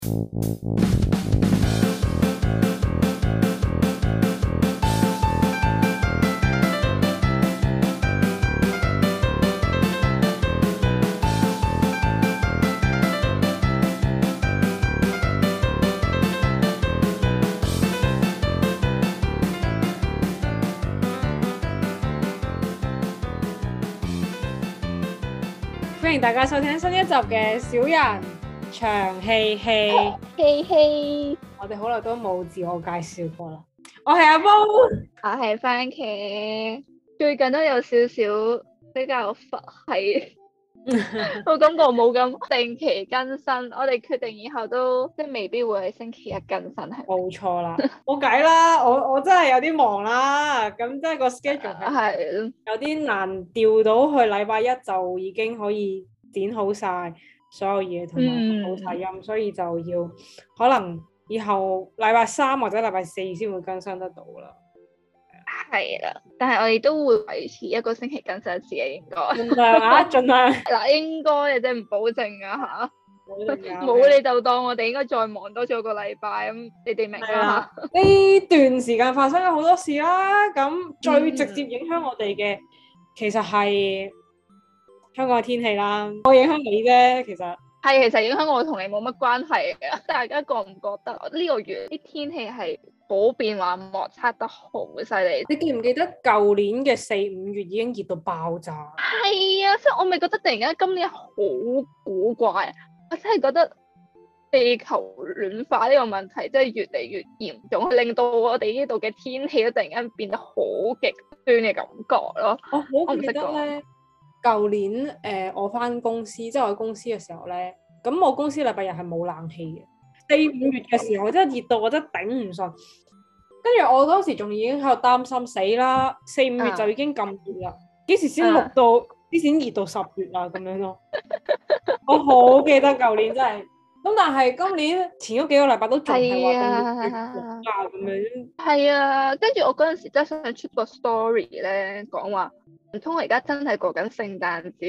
歡迎大家收聽新一集嘅小人長氣氣，我哋好耐都冇自我介紹過啦。我係阿毛， 我係番茄，最近都有少少比較佛系，我感覺冇咁定期更新。我哋決定以後都即係未必會喺星期一更新，係冇錯啦，冇計啦，我真係有啲忙啦，咁即係個 schedule 係有啲難調到去禮拜一就已經可以剪好晒所有嘢同埋好晒音，所以就要可能以後禮拜三或者禮拜四先會更新得到啦。 係啦，但係我哋都會維持一個星期更新一次嘅，應該盡量啊，盡量嗱，應該嘅啫，唔保證啊嚇。冇你就當我哋應該再忙多咗個禮拜咁，你哋明啦。 呢段時間發生咗好多事啦，咁最直接影響我哋嘅其實係香港嘅天氣啦。我影響你啫，其實影響我同你冇乜關係嘅。大家覺唔覺得呢個月啲天氣係好變幻莫測得好犀利？ 你記唔記得舊年嘅4、5月已經熱到爆炸？ 係啊，即係我咪覺得突然間今年好古怪。我真係覺得地球暖化呢個問題真係越嚟越嚴重，令到我哋呢度嘅天氣都突然間變得好極端嘅感覺咯。我好記得咧， 舊年我翻公司，即係我喺公司嘅時候咧，咁我公司禮拜日係冇冷氣嘅。4、5月嘅時候，真係熱到我真係頂唔順。跟住我當時仲已經喺度擔心死啦，4、5月就已經咁熱啦，幾時先錄到？之前熱到10月啦，咁樣咯。我好記得舊年真係，咁但係今年前嗰幾個禮拜都仲係話咁熱咁樣。 係啊，跟住我嗰陣時真係想出個 story 咧，講話唔通我而家真係過緊聖誕節？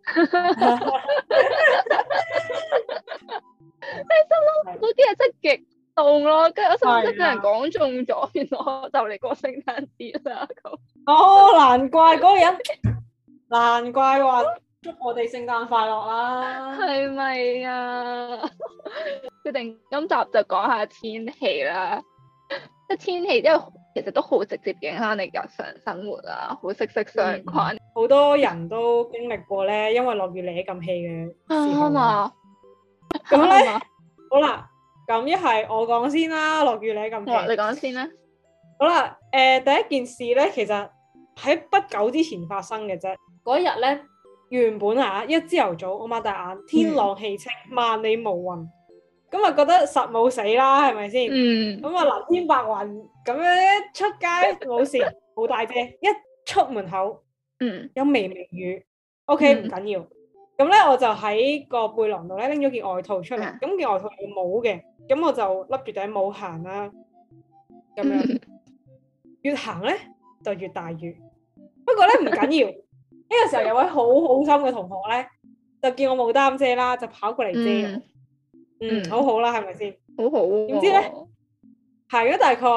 你心諗嗰啲係真係極凍咯，跟住我心諗真係俾人講中咗，原來我就嚟過聖誕節啦咁。 哦，難怪嗰個人。難怪話祝我哋聖誕快樂啦， 係咪啊？決定今集就講下天氣啦，即係天氣，因為其實都好直接影響你日常生活啊，好息息相關。 好多人都經歷過咧，因為落雨嚟咁氣嘅時候啊。咁咧，好啦，咁一係我講先啦，落雨嚟咁氣。 你講先啦。 好啦，第一件事咧，其實喺不久之前發生嘅啫。嗰日咧，原本一朝頭早我擘大眼，天朗氣清，萬里無雲，咁啊覺得實冇死啦，係咪先？咁啊藍天白雲，咁樣一出街冇事，冇帶遮，一出門口，有微微雨，OK 唔緊要。咁咧我就喺個背囊度咧拎咗件外套出嚟，咁件外套有帽嘅，咁我就笠住頂帽行啦，咁樣越行咧就越大雨，不過咧唔緊要。呢個時候有位好好心嘅同學咧，就見我冇擔遮啦，就跑過嚟遮，好好啦，係咪先？好好。點知咧，行咗大概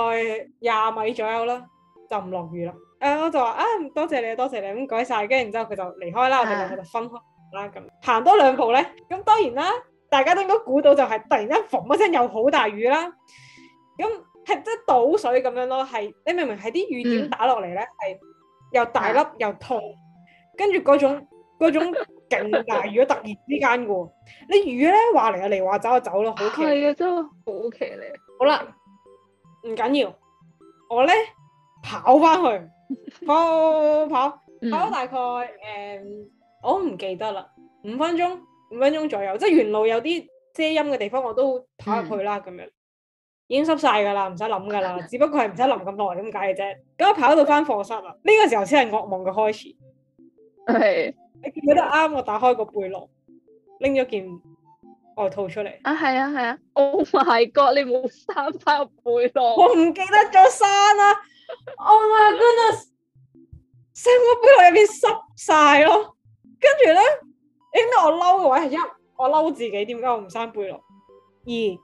20米左右啦，就唔落雨啦。我就話多謝你，多謝你，咁唔該晒。跟住然之後佢就離開啦，我哋兩個就分開啦。咁行多2步咧，咁當然啦，大家都應該估到就係突然間嘣一聲又好大雨啦。咁係即係倒水咁樣咯，係你明唔明？係啲雨點打落嚟咧，係又大粒又痛。跟住嗰種勁大雨，突然之間嘅喎，你雨咧話嚟就嚟，話走就走咯，好奇。係啊，真係好奇咧。好啦，唔緊要，我咧跑翻去，跑大概我唔記得啦，5分鐘左右，即係沿路有啲遮陰嘅地方，我都跑入去啦，咁樣已經濕晒㗎啦，唔使諗㗎啦，只不過係唔使淋咁耐咁解嘅啫。咁我跑到翻課室啦，呢個時候先係噩夢嘅開始。係，你記得啱我打開個背囊，拎咗件外套出嚟。係啊 ，Oh my God！ 你冇閂翻個背囊，我唔記得咗閂啦。Oh my goodness！ 成個背囊入邊濕晒咯。跟住咧，應該我嬲嘅位係我嬲自己，點解我唔閂背囊？2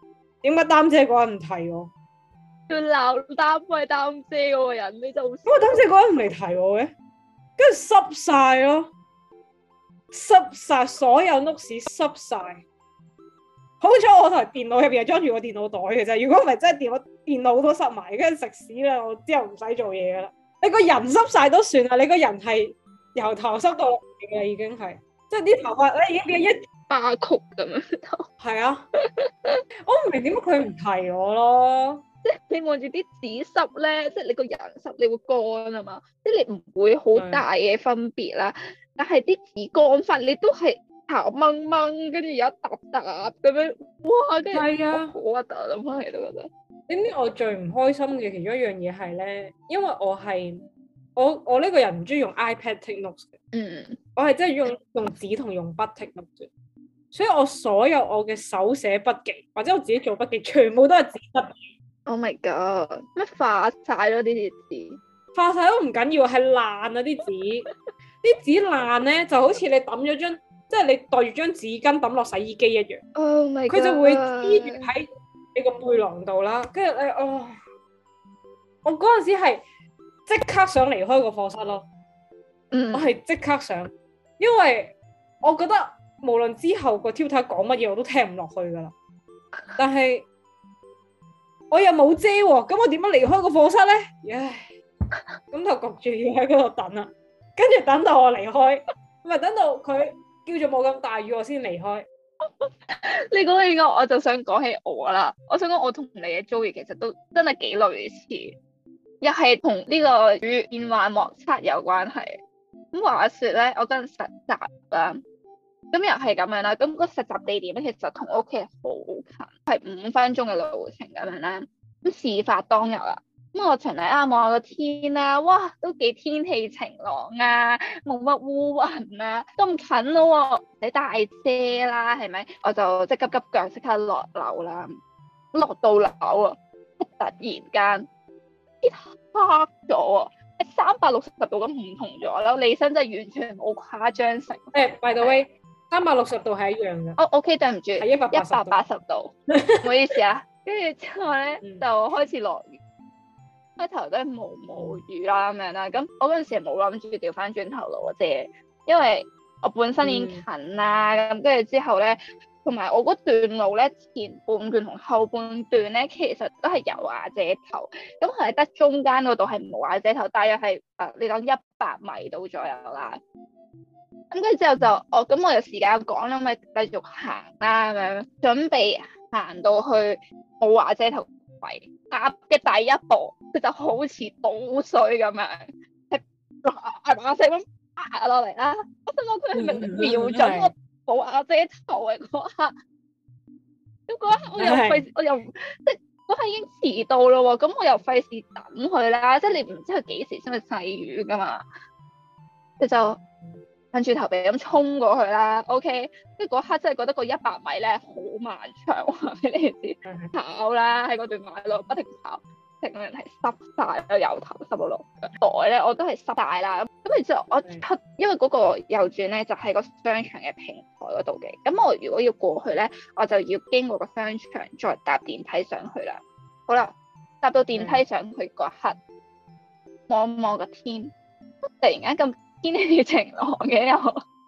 點解擔遮嗰人唔提我？ 要鬧擔遮嗰個人，你就咁我擔遮嗰人唔嚟提我嘅，跟住濕晒咯，濕晒所有屋屎濕晒。好彩我台電腦入邊係裝住個電腦袋嘅啫，如果唔係真係電腦都濕埋，跟住食屎啦！我之後唔使做嘢噶啦。你個人濕晒都算啦，你個人係由頭濕到落嚟嘅已經係，即係啲頭髮咧已經變一巴曲咁樣。 係啊，我唔明點解佢唔提我咯。 即係你望住啲紙濕咧，即係你個人濕，你會乾啊嘛，即係你唔會好大嘅分別啦。但係啲紙乾法，你都係頭掹掹，跟住有一揼揼咁樣，哇！跟住好核突啊，諗翻嚟都覺得。 點知我最唔開心嘅其中一樣嘢係咧，因為我呢個人唔中意用 iPad take notes 嘅，我係真係用紙同用筆 take notes 嘅，所以我所有我嘅手寫筆記或者我自己做筆記，全部都係紙筆。 Oh my god！咩化晒咗啲紙？ 化晒都唔緊要，係爛啊啲紙，啲紙爛咧就好似你抌咗張，即係你袋住張紙巾抌落洗衣機一樣。 Oh my god！ 佢就會黐住喺你個背囊度啦，跟住我嗰陣時係即刻想離開個課室咯。我係即刻想，因為我覺得無論之後個 tutor 講乜嘢我都聽唔落去噶啦。但係我又冇遮喎，咁我點樣離開個課室咧？唉，咁就焗住要喺嗰度等啦。跟住等到我離開，唔係等到佢叫做冇咁大雨我先離開。 你講起我就想講起我啦。我想講我同你嘅遭遇其實都真係幾類似，又係同呢個與變幻莫測有關係。咁話說咧，我嗰陣實習啦，咁又係咁樣啦。咁個實習地點咧，其實同屋企係好近，係5分鐘嘅路程咁樣啦。咁事發當日啦，咁我循例望下個天啊，哇，都幾天氣晴朗啊，冇乜烏雲啊，咁近咯，唔使帶遮啦，係咪？我就即係急急腳即刻落樓啦。落到樓啊，突然間天黑咗啊，360度咁唔同咗啦，你身真係完全冇誇張成。 by the way， 360度係一樣嘅。 OK， 對唔住， 係 180度，唔好意思啊。跟住之後咧就開始落雨，開頭都係毛雨啦咁樣啦。咁我嗰陣時係冇諗住調翻轉頭攞遮，因為我本身已經近啦。咁跟住之後咧，同埋我嗰段路咧，前半段同後半段咧，其實都係有瓦遮頭。咁係得中間嗰度係冇瓦遮頭，大約係你講100米度左右啦。咁跟住之後就咁我有時間講啦，咪繼續行啦咁樣，準備行到去冇瓦遮頭位，踏嘅第一步，佢就好似倒水咁樣，係嗱聲咁爬落嚟啦。我心諗佢係咪瞄準我冇瓦遮頭嘅嗰刻？咁嗰刻我又費，我又即係嗰刻已經遲到咯喎，咁我又費事等佢啦，即係你唔知佢幾時先會細雨噶嘛，佢就跟住頭皮咁衝過去啦 ，OK， 跟住嗰刻真係覺得個100米咧好漫長，話俾你知，跑啦喺嗰段馬路不停跑，成個人係濕晒，由頭濕到落腳，袋咧我都係濕晒啦。咁然之後我出，因為嗰個右轉咧就喺個商場嘅平台嗰度嘅，咁我如果要過去咧，我就要經過個商場再搭電梯上去啦。好啦，搭到電梯上去嗰刻，望望個天，突然間咁天氣晴朗嘅又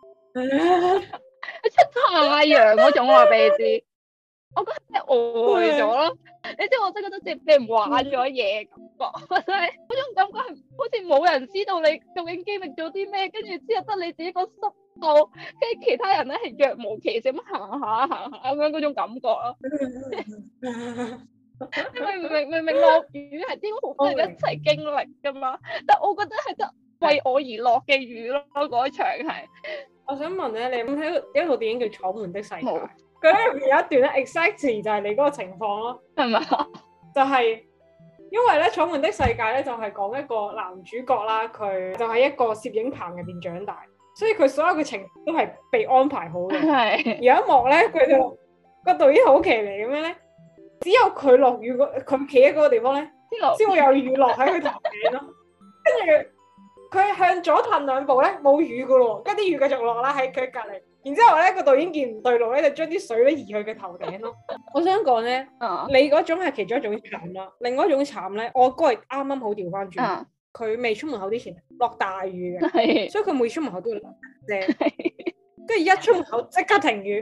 出太陽嗰種，話俾你知，我覺得係呆咗咯。你知我真係覺得自己俾人玩咗嘢感覺，真係嗰種感覺係好似冇人知道你究竟經歷咗啲咩，跟住之後得你自己個濕透，跟住其他人咧係若無其事咁行下咁樣嗰種感覺咯。明明落雨係應該好多人一齊經歷噶嘛，但我覺得係得為我而落嘅雨咯，嗰場係。 我想問咧，你有冇睇過一套電影叫《楚門的世界》？ 冇。 佢喺入邊有一段咧 ，exactly 就係你嗰個情況咯， 係咪？ 就係因為咧，《楚門的世界》咧就係講一個男主角啦，佢就喺一個攝影棚入邊長大，所以佢所有嘅情都係被安排好嘅。係。有一幕咧，佢就個導演好騎呢咁樣咧，只有佢落雨佢企喺嗰個地方咧，先會有雨落喺佢頭頂咯。跟住佢向左褪2步咧，冇雨噶咯，跟住啲雨繼續落啦喺佢隔離。 然之後咧個導演見唔對路咧，就將啲水咧移去佢頭頂咯。我想講咧，你嗰種係其中一種慘啦，另外一種慘咧，我哥係啱啱好調翻轉，佢未出門口之前落大雨嘅，所以佢每出門口都要落遮，跟住一出門口即刻停雨，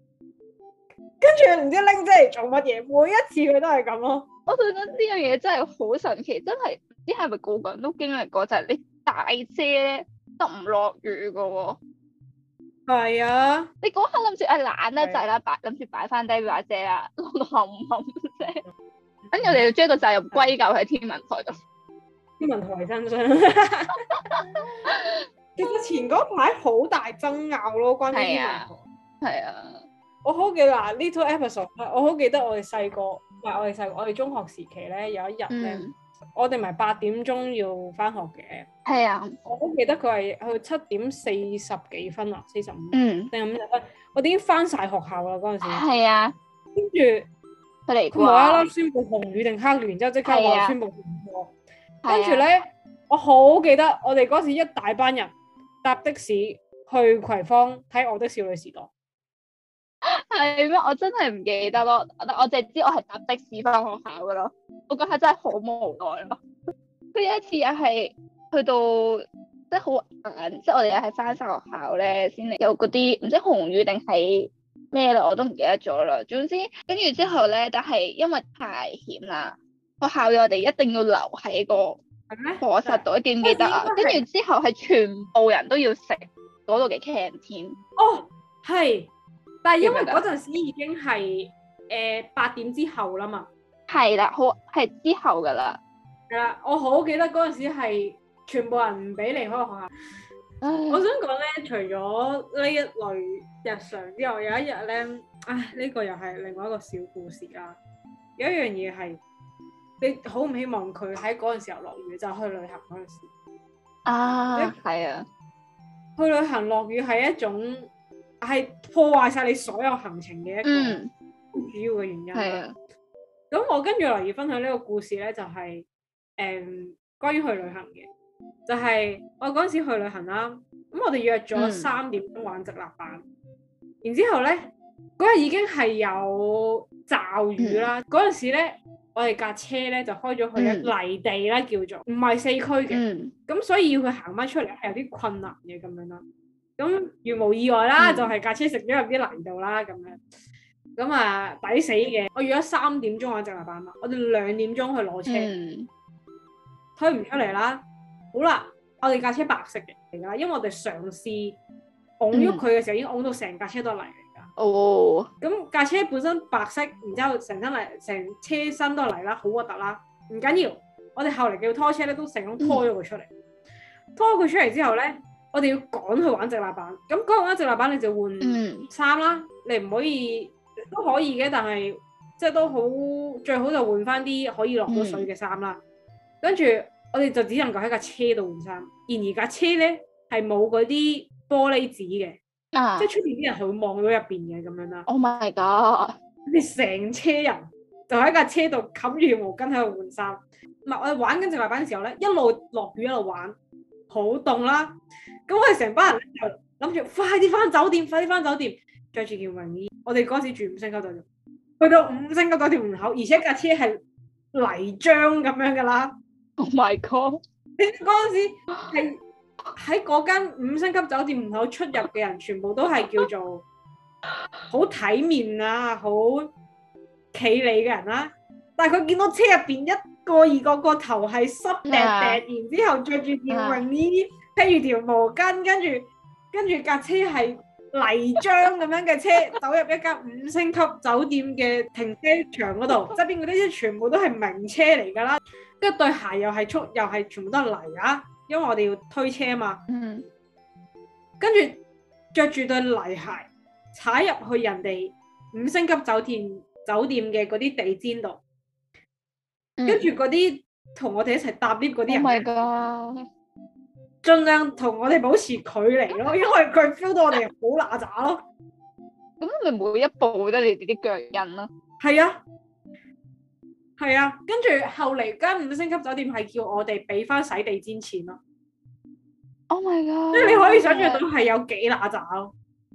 跟住唔知拎遮嚟做乜嘢，每一次佢都係咁咯。 我覺得呢樣嘢真係好神奇，真係唔知係咪個個人都經歷過，就係你大遮咧都唔落雨噶喎。 係啊， 你嗰刻諗住懶得滯啦，諗住擺翻低把遮啦，落到冚冚聲，跟住我哋要將個責任歸咎喺天文台度。 天文台身上，其實前嗰排好大爭拗咯，關於天文台。 係啊， 我好記得嗱，Little Episode，我好記得我哋細個，唔係我哋細個，我哋中學時期咧有一日咧，我哋咪8點鐘要翻學嘅。係啊，我好記得佢係去7點40幾分啊，45，定係50分，我哋已經翻晒學校啦嗰陣時。係啊，跟住佢嚟，佢無啦啦宣布紅雨定黑雨，然之後即刻話宣布停課。跟住咧，我好記得我哋嗰時一大班人搭的士去葵芳睇《我的少女時代》。係咩？我真係唔記得咯，我淨係知我係搭的士翻學校噶咯。我嗰下真係好無奈咯。佢有一次又係去到即係好晏，即係我哋又係翻晒學校咧，先嚟有嗰啲唔知紅雨定係咩啦，我都唔記得咗啦。總之跟住之後咧，但係因為太險啦，學校要我哋一定要留喺個課室度，記唔記得啊？跟住之後係全部人都要食嗰度嘅 canteen。哦，係。但係因為嗰陣時已經係8點之後啦嘛，係啦，好係之後噶啦，係啦，我好記得嗰陣時係全部人唔俾離開學校。我想講咧，除咗呢一類日常之外，有一日咧，呢個又係另外一個小故事啦。有一樣嘢係你好唔希望佢喺嗰陣時候落雨，就係去旅行嗰陣時。係啊，去旅行落雨係一種。係破壞晒你所有行程嘅一個主要嘅原因。係啊，咁我跟住嚟要分享呢個故事咧，就係關於去旅行嘅，就係我嗰陣時去旅行啦。咁我哋約咗3點鐘玩直立板，然之後咧嗰日已經係有驟雨啦。嗰陣時咧，我哋架車咧就開咗去泥地啦，叫做唔係四區嘅，咁所以要佢行翻出嚟係有啲困難嘅咁樣啦。咁如無意外啦，就係架車食咗入啲泥度啦，咁樣，咁啊抵死嘅。我約咗3點鐘玩直立板嘛，我哋2點鐘去攞車，推唔出嚟啦。好啦，我哋架車白色嘅嚟噶，因為我哋嘗試拱喐佢嘅時候，已經拱到成架車都係泥嚟噶。哦，咁架車本身白色，然之後成車身都係泥啦，好核突啦。唔緊要，我哋後嚟叫拖車咧，都成功拖咗佢出嚟。拖佢出嚟之後咧，我哋要趕去玩直立板，咁趕玩直立板你就換衫啦，你唔可以都可以嘅，但係即係都好最好就換翻啲可以落到水嘅衫啦。跟住我哋就只能夠喺架車度換衫，然而架車咧係冇嗰啲玻璃紙嘅，即係出邊啲人係會望到入邊嘅咁樣啦。Oh my god！你成車人就喺架車度冚住條毛巾喺度換衫。唔係，我哋玩緊直立板嘅時候咧，一路落雨一路玩，好凍啦。咁我哋成班人就諗住快啲翻酒店，着住件泳衣。我哋嗰時住5星級酒店，去到5星級酒店門口，而且架車係泥漿咁樣噶啦。Oh my god！ 你嗰陣時係喺嗰間5星級酒店門口出入嘅人，全部都係叫做好體面啊，好企理嘅人啦。但係佢見到車入邊一個個頭係濕掟掟，然之後着住件泳衣。披住條毛巾，跟住架車係泥漿咁樣嘅車，走入一間5星級酒店嘅停車場嗰度，側邊嗰啲車全部都係名車嚟㗎啦，跟住對鞋又係全部都係泥啊，因為我哋要推車嘛。跟住着住對泥鞋，踩入去人哋5星級酒店嘅嗰啲地氈度，跟住嗰啲同我哋一齊搭 lift 嗰啲人。Oh my god！盡量同我哋保持距離咯，因為佢 feel 到我哋好乸渣咯。咁咪每一步都你哋啲腳印咯。係啊，跟住後嚟間5星級酒店係叫我哋俾翻洗地氈錢咯。Oh my god！即係你可以想象到係有幾乸渣咯。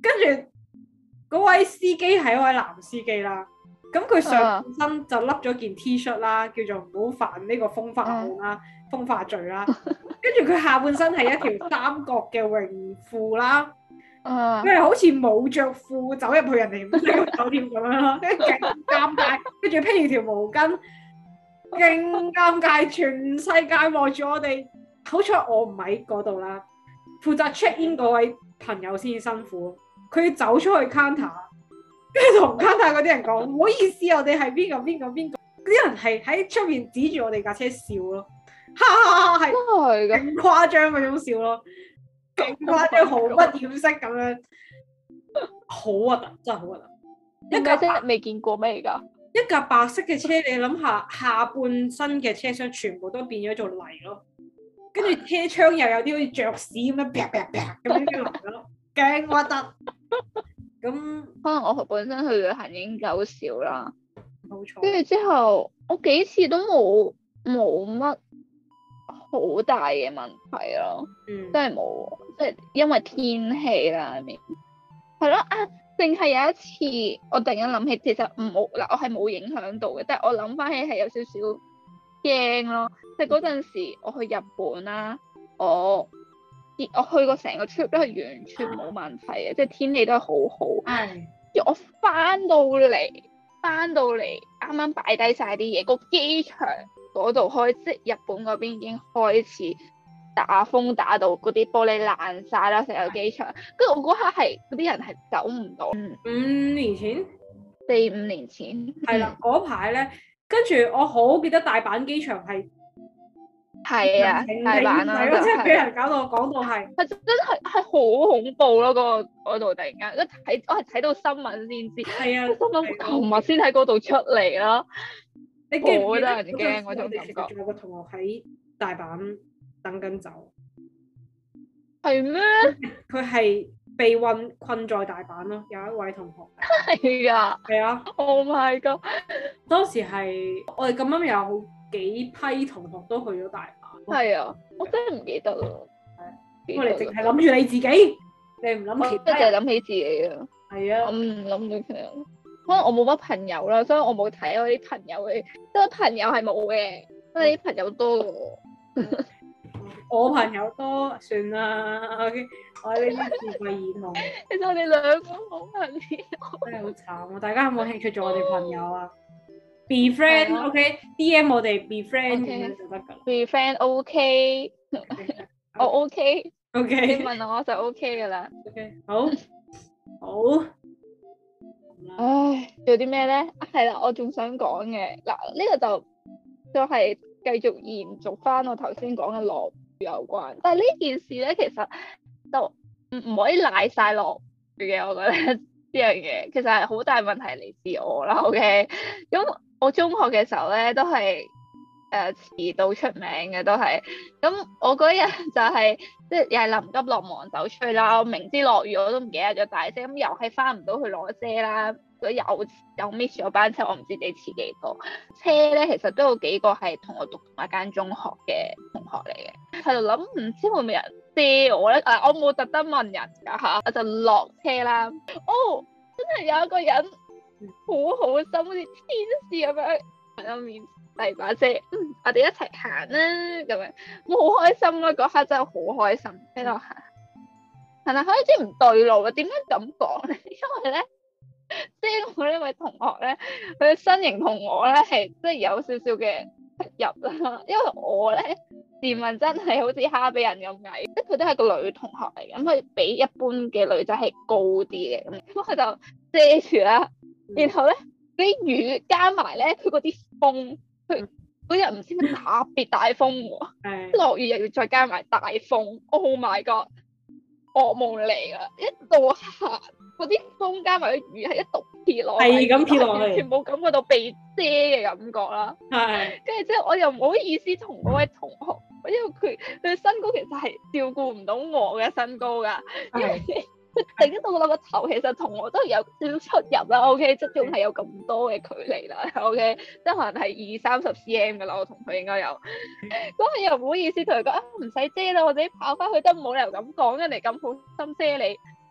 跟住嗰位司機係一位男司機啦，咁佢上半身就笠咗件 T 恤啦，叫做唔好犯呢個風化案啦、風化罪啦。跟住佢下半身係一條三角嘅泳褲啦，佢係好似冇着褲走入去人哋呢個酒店咁樣咯，跟住勁尷尬，跟住披住條毛巾，勁尷尬，全世界望住我哋。好彩我唔喺嗰度啦，負責 check in 嗰位朋友先辛苦，佢要走出去 counter， 跟住同 counter 嗰啲人講唔好意思，我哋係邊個，啲人係喺出面指住我哋架車笑咯，哈哈哈，係勁誇張嗰種笑咯，勁誇張，毫不掩飾咁樣，好核突，真係好核突。 一架車未見過咩而家？ 一架白色嘅車，你諗下下半身嘅車廂全部都變咗做泥咯。跟住車窗又有啲好似雀屎咁樣啪啪啪咁樣落咗咯，勁核突。咁可能我本身去旅行已經夠少啦， 冇錯。跟住之後我幾次都冇乜好大嘅問題咯，真係冇，即係因為天氣啦，係咯啊，淨係有一次我突然間諗起，其實我係冇影響到嘅，但係我諗翻起係有少少驚咯，即係嗰陣時我去日本啦，我去過成個 trip 都係完全冇問題嘅，即係天氣都係好好。我翻到嚟啱啱擺低晒啲嘢，個機場嗰度開，即係日本嗰邊已經開始打風打到嗰啲玻璃爛晒啦，成個機場。跟住我嗰刻係嗰啲人係走唔到。 5年前 ，4-5年前係啦，嗰排咧。跟住我好記得大阪機場係啊，大阪啦， 即係俾人搞到講到係真係好恐怖咯！嗰度突然間我係睇到新聞先知， 係啊， 心諗琴日先喺嗰度出嚟啦，好得人驚嗰種感覺。 仲有個同學喺大阪等緊走， 係咩？ 佢係被困在大阪咯，有一位同學係啊， 係啊 ，Oh my god！ 當時係我哋咁啱有好幾批同學都去咗大阪。 係啊，我真係唔記得咯。 我哋淨係諗住你自己，你唔諗其他人。 我淨係諗起自己啊。係啊。我唔諗到其他人。可能我冇乜朋友啦，所以我冇睇我啲朋友嘅，即係朋友係冇嘅，因為啲朋友多嘅喎。 我朋友多，算啦。OK，我呢啲智慧兒童。 其實我哋兩個好朋友。 真係好慘啊！大家有冇興趣做我哋朋友啊？Be friend，OK？DM 我哋 be friend 咁樣就得㗎啦。 Be friend OK，我 OK。 OK。 你問我就 OK 㗎啦。 OK，好。 唉，做啲咩咧？係啦，我仲想講嘅嗱，呢個就係繼續延續翻我頭先講嘅落雨有關，但係呢件事咧，其實就唔可以賴晒落雨嘅，我覺得呢樣嘢其實係好大問題嚟自我啦。OK，咁我中學嘅時候咧都係遲到出名嘅，都係咁我嗰日就係即係又係臨急落忙走出去啦，我明知落雨我都唔記得咗帶遮，咁又係翻唔到去攞遮啦。有 miss 咗班車，我唔知你遲幾多車咧。其實都有幾個係同我讀同一間中學嘅同學嚟嘅，喺度諗唔知會唔會有人遮我咧？我冇特登問人㗎嚇，我就落車啦。哦，真係有一個人好好心，好似天使咁樣喺我面遞把遮，我哋一齊行啦咁樣，我好開心啦！嗰刻真係好開心喺度行，係啦，開始唔對路啦。點解咁講咧？因為咧。即係我呢位同學咧，佢嘅身形同我咧係即係有少少嘅出入啦。因為我咧自問真係好似哈比人咁矮，即係佢都係個女同學嚟嘅，咁佢比一般嘅女仔係高啲嘅，咁佢就遮住啦。然後咧啲雨加埋咧，佢嗰啲風，佢嗰日唔知咩特別大風喎，落雨又要再加埋大風。Oh my god！噩夢嚟㗎，一度行嗰啲風加埋啲雨係一度撇落，係咁撇落去，完全冇感覺到被遮嘅感覺啦。係，跟住之後我又唔好意思同嗰位同學，因為佢身高其實係照顧唔到我嘅身高㗎，因為佢頂到我個頭，其實同我都有少少出入啦。OK， 即係仲係有咁多嘅距離啦。OK，即係可能係20-30 cm 㗎啦，我同佢應該有。咁佢又唔好意思同佢講唔使遮啦，我自己跑翻去都冇理由咁講，人哋咁好心遮你。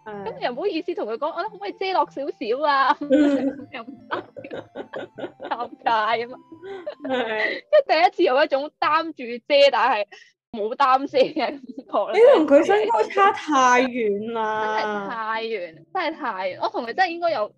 咁又唔好意思同佢講，我可唔可以遮落少少啊？又唔得，尷尬啊嘛。即係第一次有一種擔住遮，但係冇擔遮嘅感覺。 你同佢身高差太遠啦， 真係太遠，真係太遠。我同佢真係應該有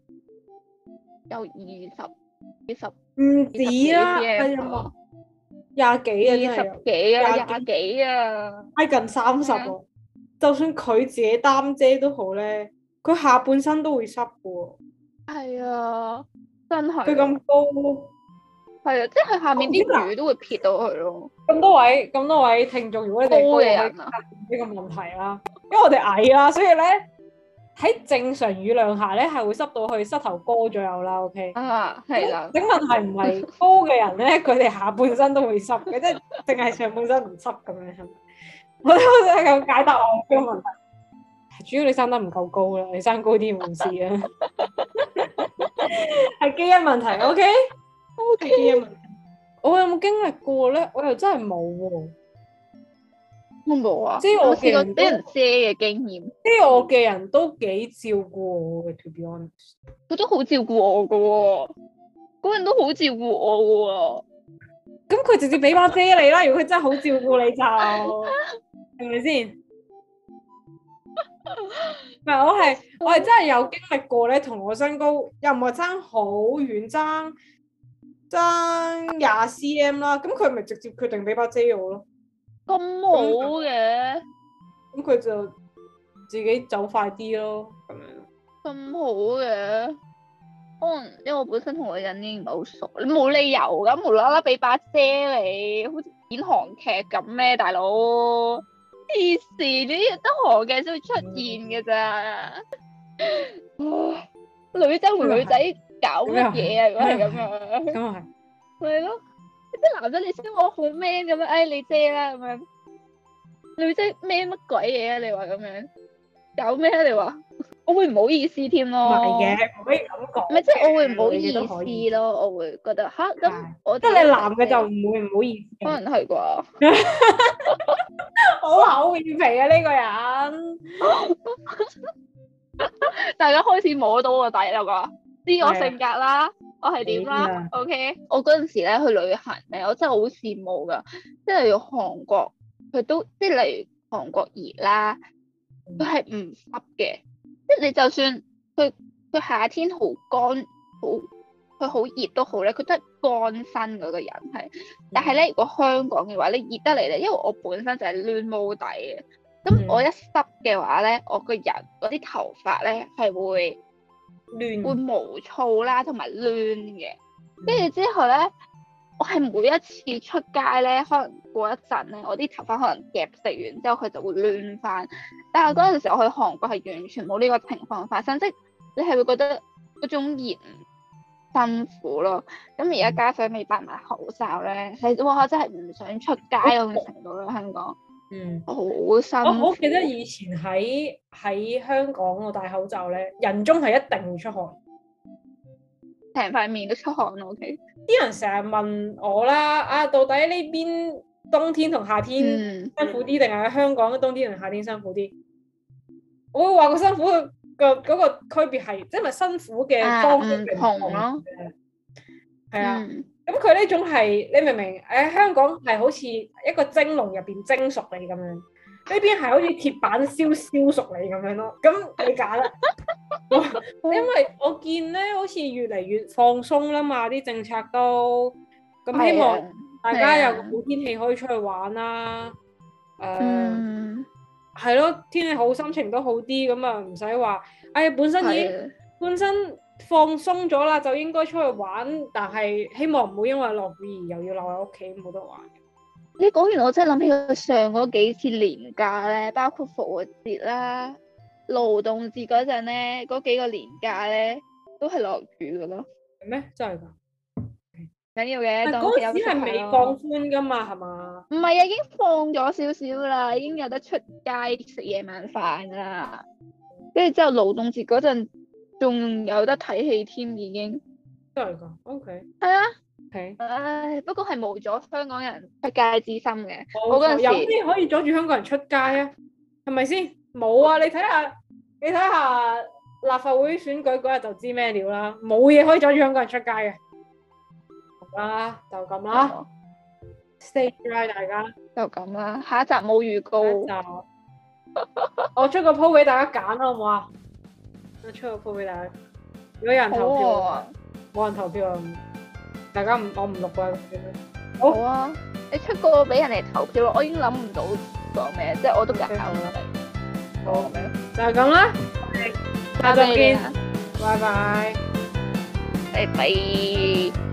20 唔止啦，係啊，廿幾啊，真係 20幾啊，廿幾啊， 挨近30喎。就算佢自己擔遮都好咧，佢下半身都會濕嘅喎。 係啊，真係。 佢咁高， 係啊，即係佢下面啲雨都會撇到佢咯。 咁多位聽眾，如果你哋高嘅人啊，呢個問題啦，因為我哋矮啦，所以咧喺正常雨量下咧係會濕到去膝頭哥左右啦。OK， 啊，係啦。 整問題唔係高嘅人咧，佢哋下半身都會濕嘅，即係淨係上半身唔濕咁樣。我都有解答我呢個問題，主要你生得唔夠高啦，你生高啲冇事啊，係基因問題。OK，係基因問題。我有冇經歷過咧？我又真係冇喎。 我冇啊， 即係我試過俾人遮嘅經驗。 即係我嘅人都幾照顧我嘅，to be honest。 佢都好照顧我噶喎，嗰人都好照顧我噶喎。 咁佢直接俾把遮你啦，如果佢真係好照顧你就係咪先？唔係，我係真係有經歷過咧，同我身高又唔係爭好遠，爭20cm 啦。咁佢咪直接決定俾把遮我咯。 咁好嘅？ 咁佢就自己走快啲咯，咁樣。 咁好嘅？可能因為我本身同個人已經唔係好熟，你冇理由咁無啦啦俾把遮你，好似演韓劇咁咩，大佬？黐線，呢啲得韓劇先會出現嘅咋？女仔同女仔搞乜嘢啊？如果係咁樣， 咁啊係， 係咯，啲男仔你先我好 man 咁樣，哎你遮啦咁樣，女仔 man 乜鬼嘢啊？你話咁樣搞咩啊？你話？我會唔好意思添咯， 唔係嘅，唔可以咁講。 唔係即係我會唔好意思咯，我會覺得吓咁，我即係你男嘅就唔會唔好意思。 可能係啩？ 好厚面皮啊呢個人！ 大家開始摸到個底啦啩，知我性格啦，我係點啦 ？OK， 我嗰陣時咧去旅行咧，我真係好羨慕噶，即係要韓國，佢都即係例如韓國熱啦，佢係唔濕嘅。即係你就算佢夏天好乾佢好熱都好咧，佢都係乾身嗰個人係。但係咧，如果香港嘅話，你熱得嚟咧，因為我本身就係攣毛底嘅，咁我一濕嘅話咧，我個人嗰啲頭髮咧係會毛躁啦，同埋攣嘅。跟住之後咧，我係每一次出街咧，可能過一陣咧，我啲頭髮可能夾食完之後，佢就會亂翻。但係嗰陣時我去韓國係完全冇呢個情況發生，即係你係會覺得嗰種熱辛苦咯。咁而家加上未戴埋口罩咧，係哇真係唔想出街嗰種程度咯，香港。好辛苦。 我好記得以前喺香港我戴口罩咧，人中係一定會出汗。 成塊面都出汗咯 ，OK。 啲人成日問我啦，到底呢邊冬天同夏天辛苦啲，定係喺香港冬天同夏天辛苦啲？我會話個辛苦嘅嗰個區別係，即係咪辛苦嘅方式唔同咯？係啊，咁佢呢種係你明唔明？香港係好似一個蒸籠入邊蒸熟你咁樣，呢邊係好似鐵板燒熟你咁樣咯。咁你揀啦。因為我見咧，好似越嚟越放鬆啦嘛，啲政策都咁，希望大家有個好天氣可以出去玩啦。係咯，天氣好，心情都好啲，咁啊唔使話，本身放鬆咗啦，就應該出去玩，但係希望唔好因為落雨而又要留喺屋企冇得玩。 你講完我真係諗起佢上嗰幾次年假咧，包括復活節啦、勞動節嗰陣咧，嗰幾個年假咧都係落雨噶咯。 係咩？真係㗎？ 緊要嘅， 但嗰時係未放寬㗎嘛，係嘛？ 唔係啊，已經放咗少少啦，已經有得出街食夜晚飯㗎啦。跟住之後勞動節嗰陣仲有得睇戲添，已經。 真係㗎？OK。係啊。 Okay. 唉，不過係冇咗香港人出街之心嘅。我嗰陣時有啲可以阻住香港人出街啊？係咪先？冇啊！你睇下你睇下立法會選舉嗰日就知咩料啦，冇嘢可以阻住香港人出街嘅。好啦，就咁啦。Stay dry，大家就咁啦。下一集冇預告。 我出個 po 俾大家揀啦，好唔好啊？我出個 po 俾大家。如果有人投票，冇人投票啊！大家我唔錄啦。 好啊，你出個俾人哋投票咯，我已經諗唔到講咩，即係我都揀唔到。好， 就係咁啦，下集見，拜拜， 拜拜。